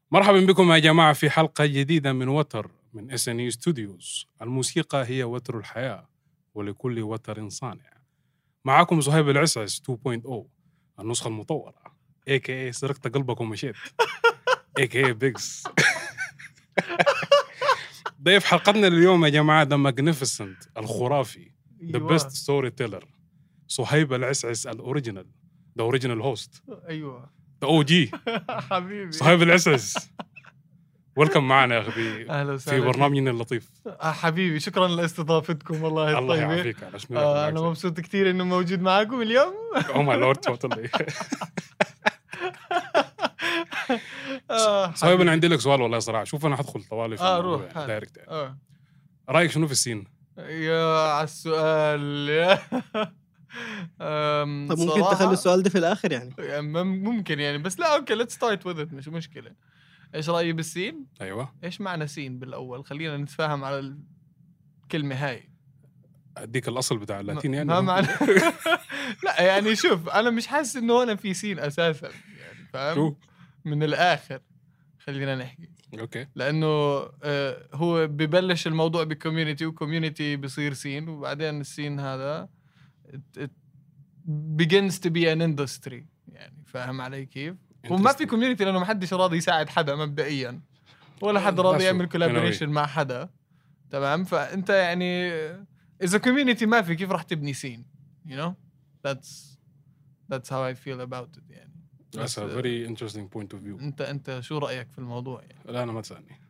مرحبا بكم يا جماعة في حلقة جديدة من وتر من SNE Studios. الموسيقى هي وتر الحياة ولكل وتر صانع. معاكم صهيب العسعس 2.0 النسخة المطورة AKA سرقت قلبك ومشيت AKA بيكس. ضيف حلقتنا اليوم يا جماعة The Magnificent الخرافي The best storyteller صهيب العسعس الأوريجينال The original host ايوه The OG حبيبي صهيب العسعس. ويلكم معنا يا أخي اهلا في وسهلا برنامجنا اللطيف. حبيبي شكرا لاستضافتكم والله الله الطيبة. يعافيك على شنو. انا مبسوط كثير انه موجود معاكم اليوم. او ماي لورد توتالي. صهيب انا عندي لك سؤال والله صراحه. شوف انا حدخل طوالي في الموضوع روح دايركت يعني. رايك شنو في السين؟ يا على السؤال. طب ممكن تخلي السؤال ده في الاخر يعني ممكن يعني، بس لا اوكي ليتس ستارت وذ ات، مش مشكله. ايش رايي بالسين؟ ايوه ايش معنى سين بالاول؟ خلينا نتفاهم على الكلمه هاي. اديك الاصل بتاع اللاتين يعني. ما معنى لا يعني شوف، انا مش حاسس انه هنا في سين اساسا يعني، فاهم؟ من الاخر خلينا نحكي اوكي، لانه هو ببلش الموضوع بكوميونتي، وكوميونتي بصير سين، وبعدين السين هذا it begins to be an industry يعني. فاهم علي كيف؟ وما في كوميونتي لانه ما حدش راضي يساعد حدا مبدئيا، ولا حد راضي يعمل كولابوريشن مع حدا. تمام؟ فانت يعني اذا كوميونتي ما في كيف راح تبني سين؟ you know that's how I feel about it يعني. That's a very interesting point of view. انت شو رايك في الموضوع يعني؟ لا انا ما تسالني.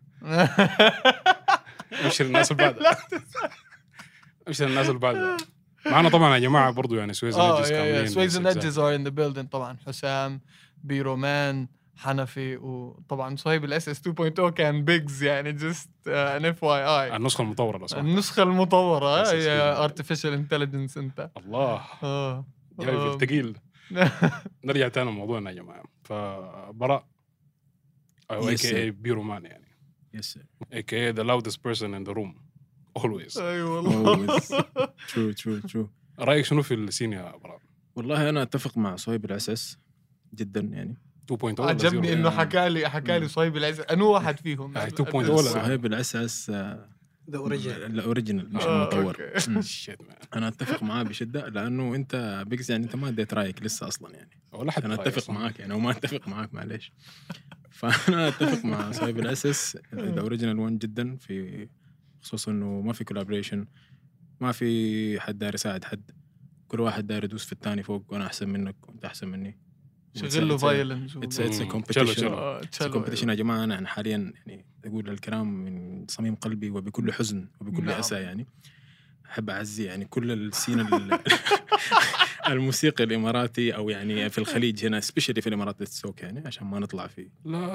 امشي الناس اللي بعدها. امشي الناس اللي بعدها. معنا طبعا يا جماعه برضو يعني سويز نجز كاملين. سويز نجز are in the building طبعا. حسام، بيرومان، حنفي، وطبعا صهيب الاس 2.0 كان بيجز يعني just an FYI. النسخه المطوره لو النسخه المطوره يا artificial intelligence. انت الله جاي في الثقيل. نرجع تاني لموضوعنا يا جماعه. فبراء او AKA بيرومان يعني. Yes sir. AKA the loudest person in the room always. ايوه والله. true. رايك شنو في السين يا براء؟ والله انا اتفق مع صهيب العسس جدا يعني. 2.0 عجبني انه حكى لي صهيب العسس انه واحد فيهم 2.0 صهيب العسس الاوريجينال مش المطور. انا اتفق معاه بشده لانه انت بيكس يعني انت ما اديت رايك لسه اصلا يعني، ولا حتى انا اتفق معاك يعني وما اتفق معاك معليش. فانا اتفق مع صهيب العسس الاوريجينال وان جدا، في خصوصا انه ما في كولابوريشن، ما في حد داير يساعد حد، كل واحد داير يدوس في الثاني فوق، وانا احسن منك وانت احسن مني. شغل له فايلنس. اتس كومبيتيشن يا جماعه. انا حاليا يعني اقول الكلام من صميم قلبي وبكل حزن وبكل اسى يعني. احب اعزي يعني كل السين الموسيقى الاماراتي او يعني في الخليج هنا سبيشالي في الامارات السوق يعني، عشان ما نطلع فيه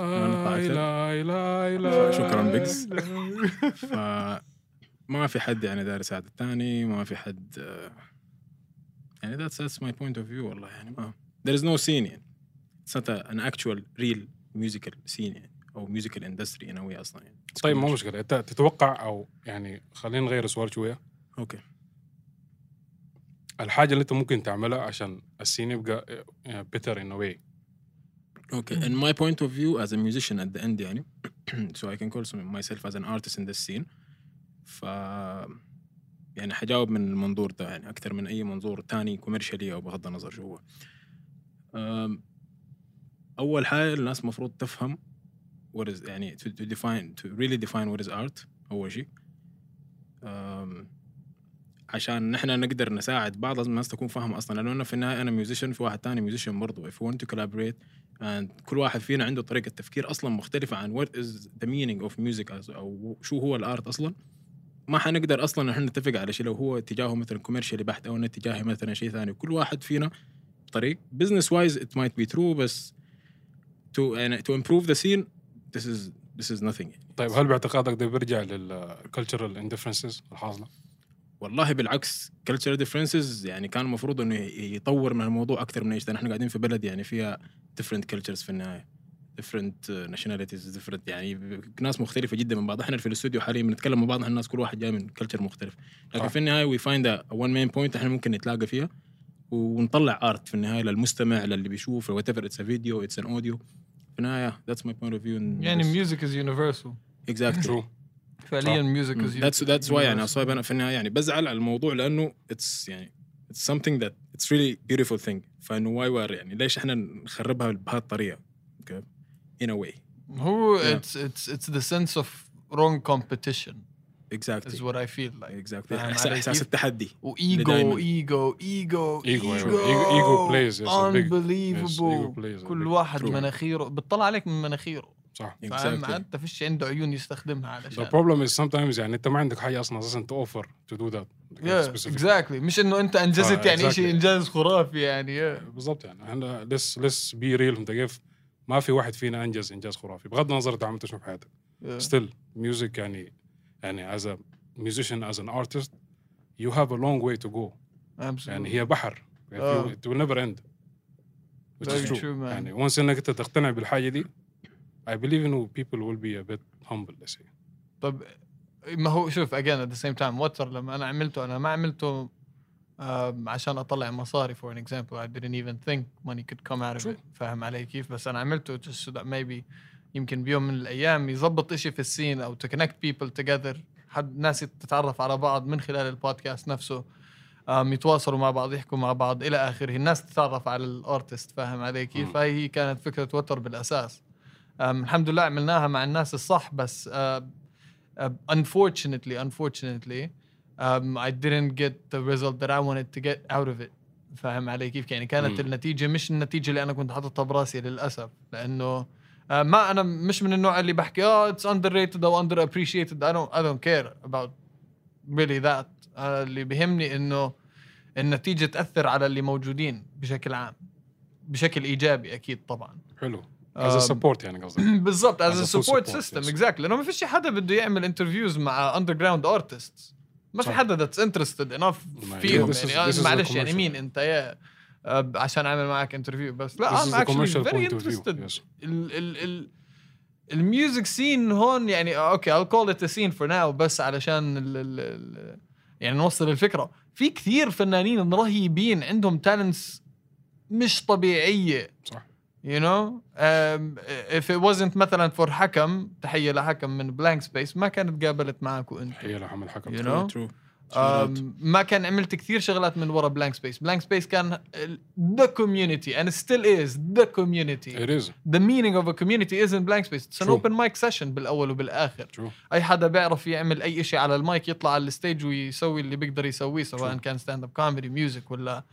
لا شكرا بيجز. فما في حد يعني داير يساعد الثاني، ما في حد يعني that's my point of view والله يعني. ما there is no scene يعني. it's not an actual real musical scene يعني او musical industry in a way اصلا يعني. طيب ما مشكله. انت تتوقع او يعني خلينا نغير السؤال شويه. اوكي، الحاجه اللي انت ممكن تعملها عشان السين يبقى better in a way. Okay, in my point of view as a musician at the end يعني so I can call myself as an artist in this scene. يعني حجاوب من المنظور ده يعني أكثر من أي منظور تاني كوميرشالي أو بغض النظر شو هو. أول حاجة الناس مفروض تفهم what is يعني to really define what is art أول شيء. عشان نحن نقدر نساعد بعض لازم الناس تكون فاهمة أصلاً، لأنه أنا في النهاية أنا ميوزيشن، في واحد تاني ميوزيشن برضو. if we want to collaborate and كل واحد فينا عنده طريقة تفكير أصلاً مختلفة عن what is the meaning of music أو شو هو الآرت أصلاً، ما حنقدر أصلاً نحن نتفق على شيء لو هو اتجاهه مثلاً كوميرشالي بحت أو اتجاهه مثلاً شيء ثاني. كل واحد فينا طريق business wise it might be true، بس to improve the scene this is nothing يعني. طيب هل باعتقادك ده بيرجع للcultural indifferences الحاصلة؟ والله بالعكس cultural differences يعني كان المفروض إنه يطور من الموضوع أكثر من إيش. نحن قاعدين في بلد يعني فيها different cultures في النهاية، different nationalities different يعني ناس مختلفة جدا من بعض. إحنا في الاستوديو حاليا بنتكلم مع بعض الناس كل واحد جاي من culture مختلف، لكن في النهاية we find a one main point إحنا ممكن نتلاقى فيها ونطلع art في النهاية للمستمع للي بيشوف whatever it's a video it's an audio. في النهاية that's my point of view يعني music is universal exactly True. فعليا music is that's why يعني أصوب أنا في النهاية يعني بزعل على الموضوع لأنه it's something that it's really beautiful thing فإنه why يعني ليش إحنا نخربها بهالطريقة okay in a way هو Yeah. it's the sense of wrong competition exactly is what I feel like exactly فاهم علي إحساس كيف؟ التحدي وإيجو دايماً. إيجو Ego plays, yes, a big- yes, ego unbelievable plays a كل big- واحد True. مناخيره بتطلع عليك من مناخيره صح. فاهم Exactly. انت فيش عنده عيون يستخدمها The علشان problem is sometimes يعني انت ما عندك حاجه اصلا اساسا to offer to do that. yeah exactly مش انه انت انجزت يعني شيء exactly. انجاز خرافي يعني بالضبط يعني احنا let's be real انت كيف ما في واحد فينا انجز انجاز خرافي بغض النظر انت عملت شنو في حياتك. Still music يعني as a musician as an artist you have a long way to go. يعني هي بحر it will never end. Which is Very true. true, man. يعني once انك انت تقتنع بالحاجه دي I believe انه people will be a bit humble let's say. طب ما هو شوف again at the same time وتر لما انا عملته انا ما عملته عشان اطلع مصاري for an example I didn't even think money could come out of it فاهم علي كيف بس انا عملته just so that maybe يمكن بيوم من الايام يزبط اشي في السين او to connect people together حد ناس تتعرف على بعض من خلال البودكاست نفسه يتواصلوا مع بعض يحكوا مع بعض الى اخره الناس تتعرف على الارتست فاهم علي كيف هاي كانت فكرة وتر بالاساس الحمد لله عملناها مع الناس الصح بس unfortunately I didn't get the result that I wanted to get out of it فاهم علي كيف يعني كانت النتيجة مش النتيجة اللي أنا كنت حاططها براسي للأسف لأنه ما أنا مش من النوع اللي بحكي it's underrated أو underappreciated I don't care about really that اللي بيهمني إنه النتيجة تأثر على اللي موجودين بشكل عام بشكل إيجابي أكيد طبعا حلو as a support يعني قصدك. بالضبط as a full support support, system yes. exactly لأنه ما فيش حدا بده يعمل interviews مع underground artists ما في صح. حدا that's interested enough ما فيهم this is- يعني this is the معلش يعني commercial. مين أنت يا عشان أعمل معك interview بس لا This is I'm the actually commercial very point of view, interested yes. الميوزك سين هون يعني اوكي I'll call it a scene for now بس علشان ال يعني نوصل الفكرة في كثير فنانين رهيبين عندهم talents مش طبيعية صح. you know if it wasn't مثلا for حكم تحية لحكم من blank space ما كانت قابلت معك وانت هي لحم الحكم. you know true ما كان عملت كثير شغلات من ورا blank space كان the community and still is the community It is. the meaning of a community isn't blank space it's an True. open mic session بالأول وبالآخر True. أي حدا بيعرف يعمل أي إشي على المايك يطلع على الستيج ويسوي اللي بيقدر يسويه سواء كان stand up comedy music ولا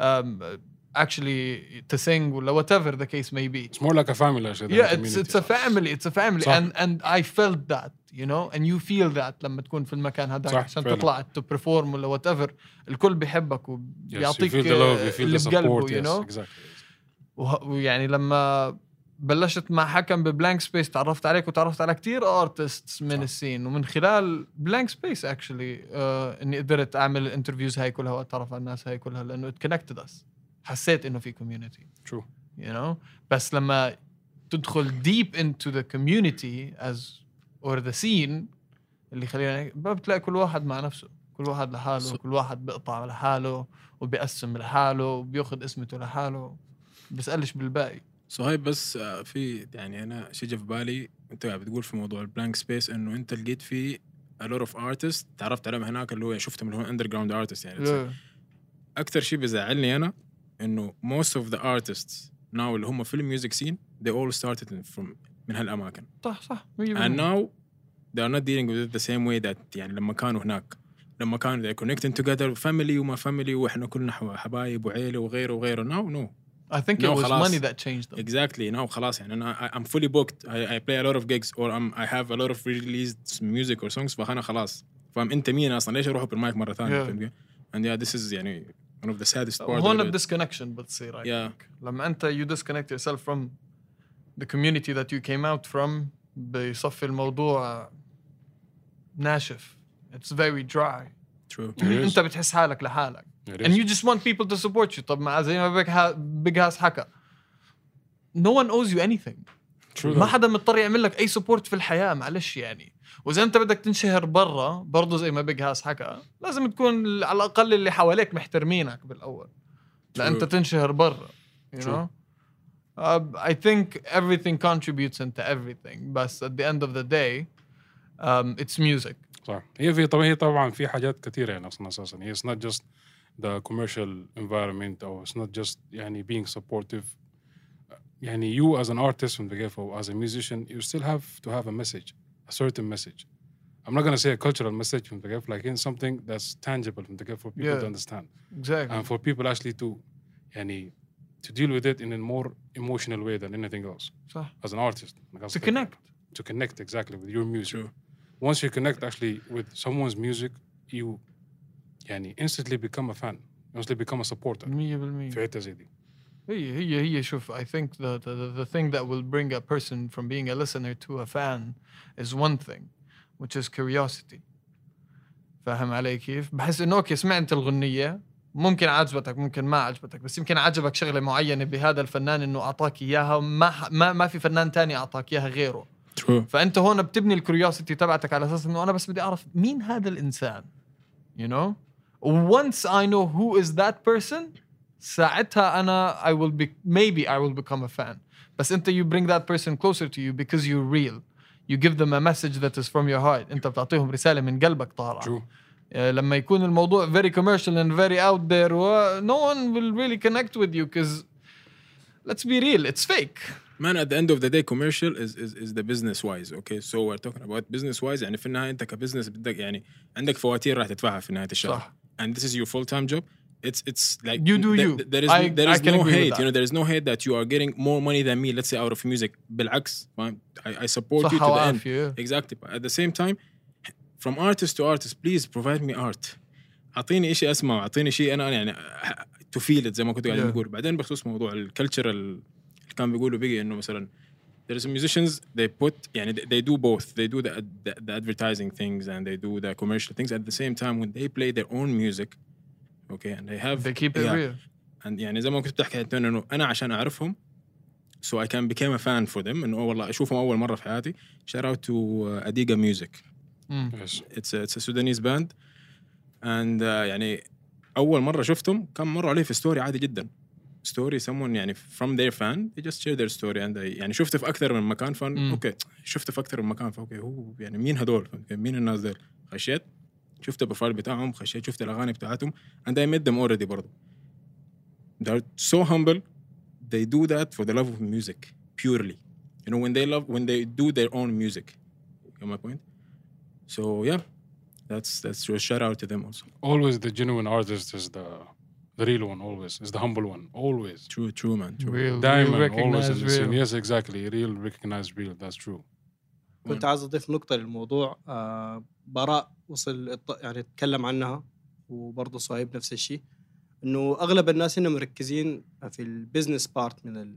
actually to sing ولا whatever the case may be It's more like a family actually than yeah a community. it's a family صح. and I felt that you know and you feel that لما تكون في المكان هذاك صح، عشان فعلا. تطلع to perform ولا whatever الكل بيحبك Yes, you وبيعطيك feel the love, you feel اللي the بقلبه support. you Yes, know exactly. ويعني لما بلشت مع حكم ببلانك سبيس تعرفت عليك وتعرفت على كتير ارتستس من السين ومن خلال بلانك سبيس اكشلي اني قدرت اعمل الانترفيوز هاي كلها واتعرف على الناس هاي كلها لانه ات كونكتد اس حسيت انه في كوميونتي True. you know بس لما تدخل deep into the community as or the scene اللي خلينا بتلاقي كل واحد مع نفسه كل واحد لحاله كل واحد بيقطع لحاله وبيقسم لحاله وبياخذ اسمته لحاله بيسألش بالباقي صهيب بس في يعني انا شيء جا في بالي انت بتقول في موضوع البلانك سبيس انه انت لقيت فيه a lot of artists تعرفت عليهم هناك اللي هو شفتهم اللي هو underground artists يعني اكثر شيء بيزعلني انا انه most of the artists now اللي هم في الميوزك سين they all started from من هالاماكن صح and now they are not dealing with it the same way that يعني لما كانوا هناك لما كانوا they're connecting together family وما family واحنا كلنا حبايب وعيله وغيره now no I think it was خلاص. money that changed them. Exactly. Now خلاص يعني أنا I'm fully booked. I play a lot of gigs or I have a lot of released music or songs فأنا خلاص فهم أنت مين أصلا ليش أروح بالمايك مرة ثانية and yeah this is يعني one of the saddest part هون of it. disconnection بتصير I Yeah. think. لما أنت you disconnect yourself from the community that you came out from بيصفي الموضوع ناشف. It's very dry. True. أنت بتحس حالك لحالك. And you just want people to support you. طب مع زي ما بيج هاس حكى no one owes you anything. True. ما حدا مضطر يعمل لك أي support في الحياة معلش يعني. وإذا أنت بدك تنشهر برا برضو زي ما بيج هاس حكى لازم تكون على الأقل اللي حواليك محترمينك بالأول. لأن أنت تنشهر برا. You know. I think everything contributes into everything, but at the end of the day, it's music. صح. هي طبعا في حاجات كثيرة يعني أصلا أساسا. It's not just the commercial environment or it's not just يعني being supportive. يعني you as an artist from the get-go, as a musician, you still have to have a message, a certain message. I'm not gonna say a cultural message from the get-go, like in something that's tangible from the get-go for people to understand. Exactly. And for people actually to يعني to deal with it in a more emotional way than anything else. صح. As an artist. To connect. To connect exactly with your music. True. Once you connect actually with someone's music, you يعني instantly become a fan. Instantly become a supporter. 100%. في حتة زي دي. هي شوف, I think the thing that will bring a person from being a listener to a fan is one thing, which is curiosity. فاهم علي كيف؟ بحس إنه أوكي سمعت الغنية ممكن عجبتك ممكن ما عجبتك, بس يمكن عجبك شغلة معينة بهذا الفنان إنه أعطاك إياها ما في فنان تاني أعطاك إياها غيره. True. فأنت هون بتبني الكوريوسيتي تبعتك على أساس إنه أنا بس بدي أعرف مين هذا الإنسان. You know? Once I know who is that person, ساعتها أنا maybe I will become a fan. بس أنت you bring that person closer to you because you're real. You give them a message that is from your heart. أنت بتعطيهم رسالة من قلبك طالعة. True. لما يكون الموضوع very commercial and very out there, no one will really connect with you because let's be real, it's fake. Man, at the end of the day, commercial is the business wise. Okay, so we're talking about business wise. يعني في النهاية أنت كبزنس بدك يعني عندك فواتير راح تدفعها في نهاية الشهر. صح. And this is your full-time job. It's like you do you. There is no hate. You know, there is no hate that you are getting more money than me. Let's say out of music. بالعكس, I support you to the end. Exactly. But at the same time, from artist to artist, please provide me art. أعطيني شيء أسمع, أعطيني شيء أنا يعني to feel it زي ما كنت قاعد بقول. بعدين بخصوص موضوع الكالتشرال كان بيقولوا بيجي إنه مثلا there is musicians they put يعني they do both. They do the advertising things and they do the commercial things at the same time when they play their own music. Okay, and they keep it real. And يعني زي ما كنت بتحكي أنت إنه أنا عشان أعرفهم so I can become a fan for them إنه والله أشوفهم أول مرة في حياتي. Shout out to Adiga Music. Yes. It's a Sudanese band and يعني أول مرة شفتهم كان مروا عليه في ستوري عادي جدا. story someone يعني from their fan they just share their story and يعني شفته في أكثر من مكان أوكي شفته في أكثر من مكان فأوكي هو يعني مين هدول مين الناس دول خشيت شفت البروفايل بتاعهم خشيت شفت الأغاني بتاعتهم and I met them already برضو. They're so humble. They do that for the love of music purely. You know when they do their own music. You get my point? So yeah, that's a shout out to them also. Always the genuine artist is the real one. Always is the humble one. Always. True man. True. Real Diamond always in the real. scene. Yes, exactly. Real recognized real. That's true. كنت عايز أضيف نقطة للموضوع. براء وصل يعني تكلم عنها وبرضه صهيب نفس الشيء إنه أغلب الناس هنا مركزين في البيزنس بارت من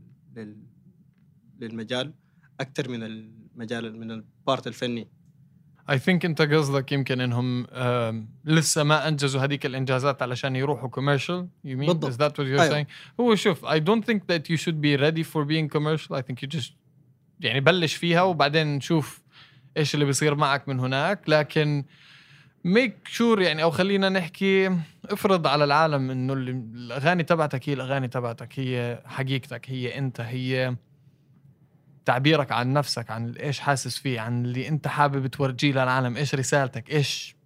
للمجال أكتر من المجال من البارت الفني. I think أنت قصدك يمكن إنهم لسه ما أنجزوا هذيك الإنجازات علشان يروحوا commercial. You mean بالضبط. is that what you're saying? هو شوف I don't think that you should be ready for being commercial. I think you just يعني بلش فيها وبعدين نشوف إيش اللي بيصير معك من هناك. لكن make sure يعني أو خلينا نحكي افرض على العالم إنه الأغاني تبعتك هي الأغاني تبعتك هي حقيقتك هي أنت هي تعبيرك عن نفسك عن إيش حاسس فيه عن اللي أنت حابب تورجيه للعالم إيش رسالتك إيش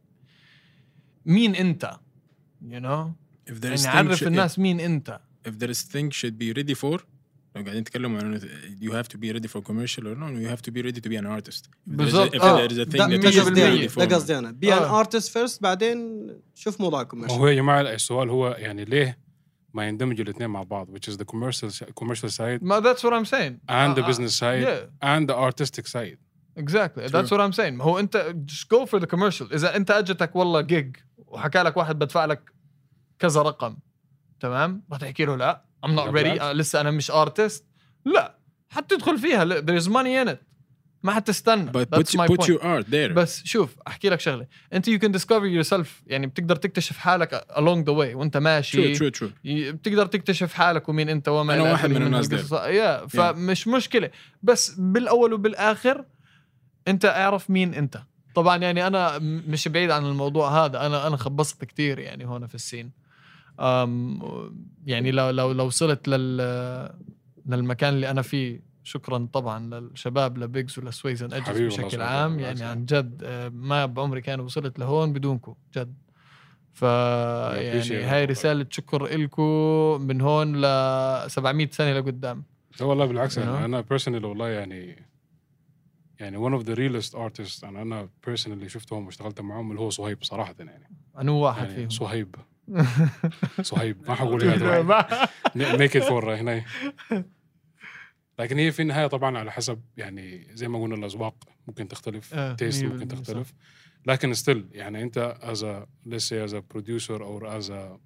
مين أنت you know يعني عرف الناس مين أنت. If there is thing should be ready for لو قاعدين نتكلم عن you have to be ready for commercial or no you have to be ready to be an artist. بالضبط. If there is a thing that you should be ready for. ده قصدي أنا be an artist first بعدين شوف موضوعكم. هو يا جماعة السؤال هو يعني ليه ما يندمجوا الاثنين مع بعض which is the commercial side that's what I'm saying and the business side and the artistic side. Exactly. That's what I'm saying. هو أنت just go for the commercial. إذا أنت أجتك والله gig وحكى لك واحد بدفع لك كذا رقم تمام ما تحكي له لا I'm not ready لسه أنا مش artist لا حتدخل فيها there is money in it ما حتستنى. But put your art there. بس شوف أحكي لك شغلة أنت you can discover yourself يعني بتقدر تكتشف حالك along the way وأنت ماشي. True. بتقدر تكتشف حالك ومين أنت وما أنا واحد من الناس ده. فمش مشكلة بس بالأول وبالآخر أنت أعرف مين أنت. طبعا يعني أنا مش بعيد عن الموضوع هذا أنا خبصت كتير يعني هنا في السين يعني لو وصلت للمكان اللي انا فيه. شكرا طبعا للشباب لبيجز ولسويزن ايدجز حبيبي بشكل الله عام. يسعدك. يعني الله عن جد ما بعمري كان وصلت لهون بدونكم جد. ف appreciate يعني it هاي والله. رسالة شكر إلكم من هون ل 700 سنة لقدام. لا والله بالعكس You know? يعني انا personally والله يعني one of the realest artists انا personally شفتهم واشتغلت معهم اللي هو صهيب صراحة يعني. أنا واحد يعني فيهم. صهيب ما حقول هنا make it for هنا. لكن هي في النهاية طبعا على حسب يعني زي ما قلنا الأذواق ممكن تختلف تيست ممكن تختلف لكن still يعني أنت as a let's say as a producer or as a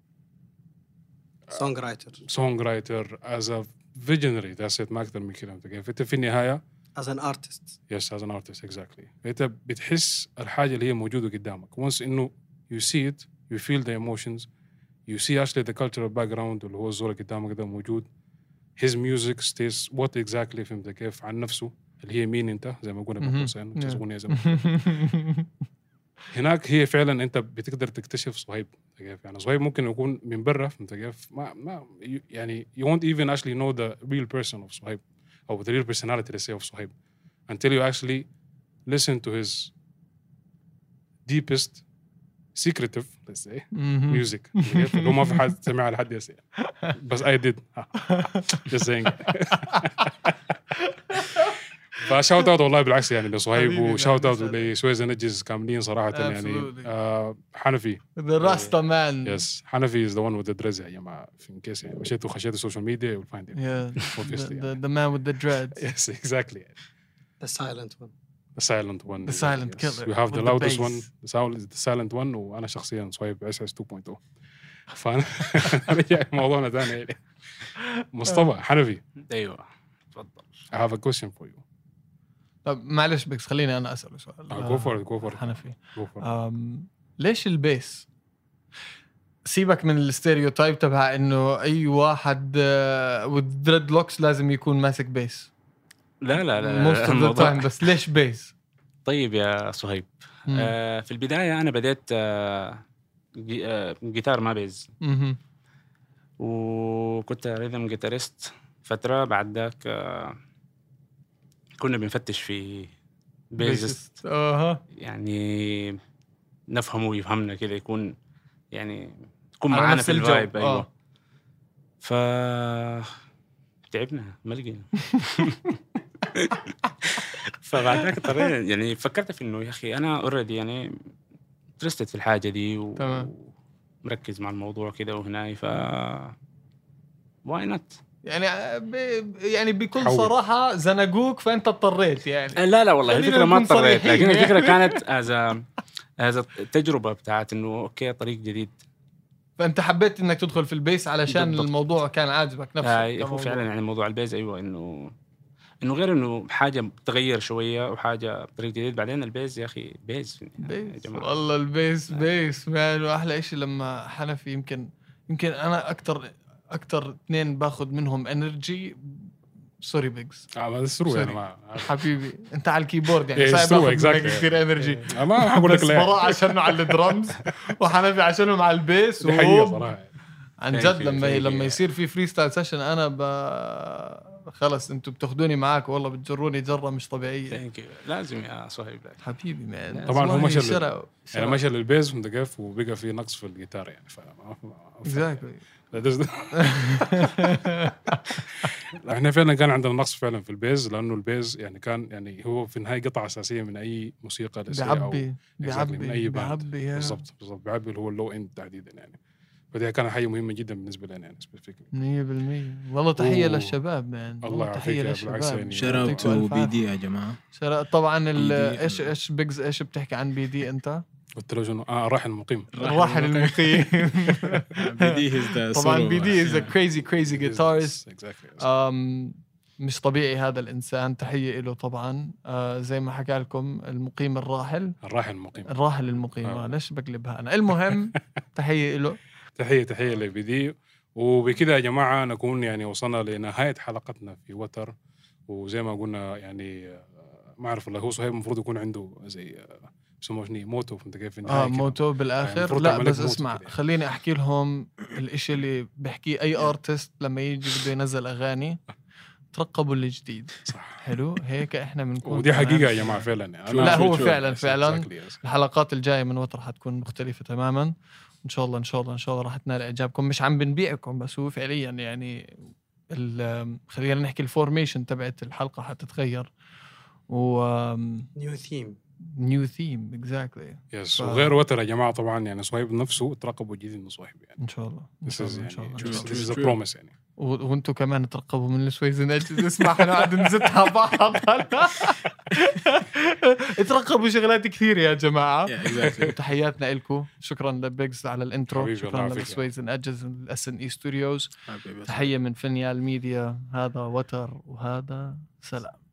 songwriter as a visionary that's it ما أكتر من كده. أنت في النهاية as an artist yes as an artist exactly. أنت بتحس الحاجة اللي هي موجودة قدامك once إنه you see it you feel the emotions you see actually the cultural background اللي هو الزول قدامك ده موجود. his music stays what exactly فهمت كيف عن نفسه اللي هي مين انت زي ما قلنا بقوسين اغنيه زي ما هناك هي فعلا انت بتقدر تكتشف صهيب كيف. يعني صهيب ممكن يكون من برا فهمت كيف ما يعني you won't even actually know the real person of صهيب or the real personality let's say of صهيب until you actually listen to his deepest secretive let's say music لو ما في حد سمع لحد يسير بس I did just saying فشاوت اوت والله بالعكس يعني لصهيب وشاوت اوت لسويزن ايدجز كاملين صراحة يعني حنفي the Rasta man yes حنفي is the one with the dreads يا جماعة in case يعني مشيتوا خشيتوا السوشيال ميديا you'll find it the man with the dreads yes exactly the silent one the silent one the silent yes. killer we have the loudest bass. one the silent one وأنا شخصيا صهيب SS 2.0 فأنا رجع موضوعنا ثاني يعني مصطفى حنفي ايوه تفضل I have a question for you. طب معلش بس خليني أنا أسأله سؤال go for it حنفي go for it. ليش البيس؟ سيبك من الستيريوتايب تبع إنه أي واحد with dreadlocks لازم يكون ماسك بيس. لا most of the time بس ليش بيس؟ طيب يا صهيب في البداية أنا بديت جيتار ما بيز وكنت ريذم جيتاريست فترة. بعد ذاك كنا بنفتش في بيزست يعني نفهمه ويفهمنا كده يكون يعني يكون معانا في الفايب. أيوة تعبنا ما لقينا فبعد ذاك اضطريت يعني فكرت في انه يا اخي انا اوريدي يعني درست في الحاجه دي ومركز مع الموضوع كده وهناي واي نوت يعني بكل صراحه زنقوك فانت اضطريت يعني. لا والله الفكره ما اضطريت لكن الفكره كانت از التجربه بتاعت انه اوكي طريق جديد. فانت حبيت انك تدخل في البيس علشان بالضبط. الموضوع كان عاجبك نفسه. هو فعلا يعني موضوع البيز ايوه انه غير انه حاجه تغير شويه وحاجه بطريقه جديده. بعدين البيز يا اخي بيز يا جماعه والله البيز بيز مان. واحلى شيء لما حنفي يمكن انا اكثر اثنين باخذ منهم انرجي. سوري بيجز ما تسروا يعني حبيبي انت على الكيبورد يعني صعب باخذ كثير انرجي. ما حقول لك لا براء عشانه على الدرمز وحنفي عشانه مع البيس. عن جد لما يصير في فري ستايل سيشن انا خلص انتوا بتاخدوني معاك والله بتجروني جره مش طبيعيه. لازم يا صهيب حبيبي مان. طبعا هو مشى يعني مشى للبيز وندقف وبقى في نقص في الجيتار يعني اكزاكتلي. احنا فعلا كان عندنا نقص فعلا في البيز لانه البيز يعني كان يعني هو في النهايه قطعه اساسيه من اي موسيقى بيعبي من اي باند. بالضبط بيعبي اللي هو اللو اند تحديدا يعني. فدي كانت حاجه مهمه جدا بالنسبه لنا يعني سبيسيفيكلي 100%. والله تحيه للشباب مان. الله تحيه للشباب. شراوت بي دي يا جماعه. طبعا ايش بيجز ايش بتحكي عن بي دي انت؟ والتلفزيون راحل المقيم بي دي طبعا بي دي is a crazy guitarist. مش طبيعي هذا الإنسان. تحية له طبعا. زي ما حكى لكم المقيم الراحل المقيم ليش بقلبها أنا. المهم تحية له. تحية لبدي. وبكده يا جماعة نكون يعني وصلنا لنهاية حلقتنا في وتر. وزي ما قلنا يعني ما أعرف والله هو صهيب المفروض يكون عنده زي بسموه موتو فهمت كيف موتو بالآخر يعني لا بس اسمع خليني أحكي لهم الإشي اللي بحكيه أي آرتست لما يجي بده ينزل أغاني ترقبوا الجديد. صح. حلو هيك احنا بنكون ودي حقيقه يا جماعه فعلا يعني. لا هو فعلا exactly. الحلقات الجايه من وتر حتكون مختلفه تماما ان شاء الله. ان شاء الله راح تنال اعجابكم. مش عم بنبيعكم بس هو فعليا يعني خلينا نحكي الفورميشن تبعت الحلقه حتتغير و نيو ثيم اكزاكتلي يس. وغير وتر يا جماعه طبعا يعني صهيب نفسه ترقبوا جديد من صهيب يعني ان شاء الله. ان شاء الله this is a promise يعني. وانتم كمان ترقبوا من السويز نجز. اسمع احنا قاعد نزتها بعض. ترقبوا شغلات كثير يا جماعه. تحياتنا لكم. شكرا لبيجز على الانترو. شكرا للسويز نجز من SNE ستوديوز. تحيه من فينيال ميديا. هذا وتر وهذا سلام.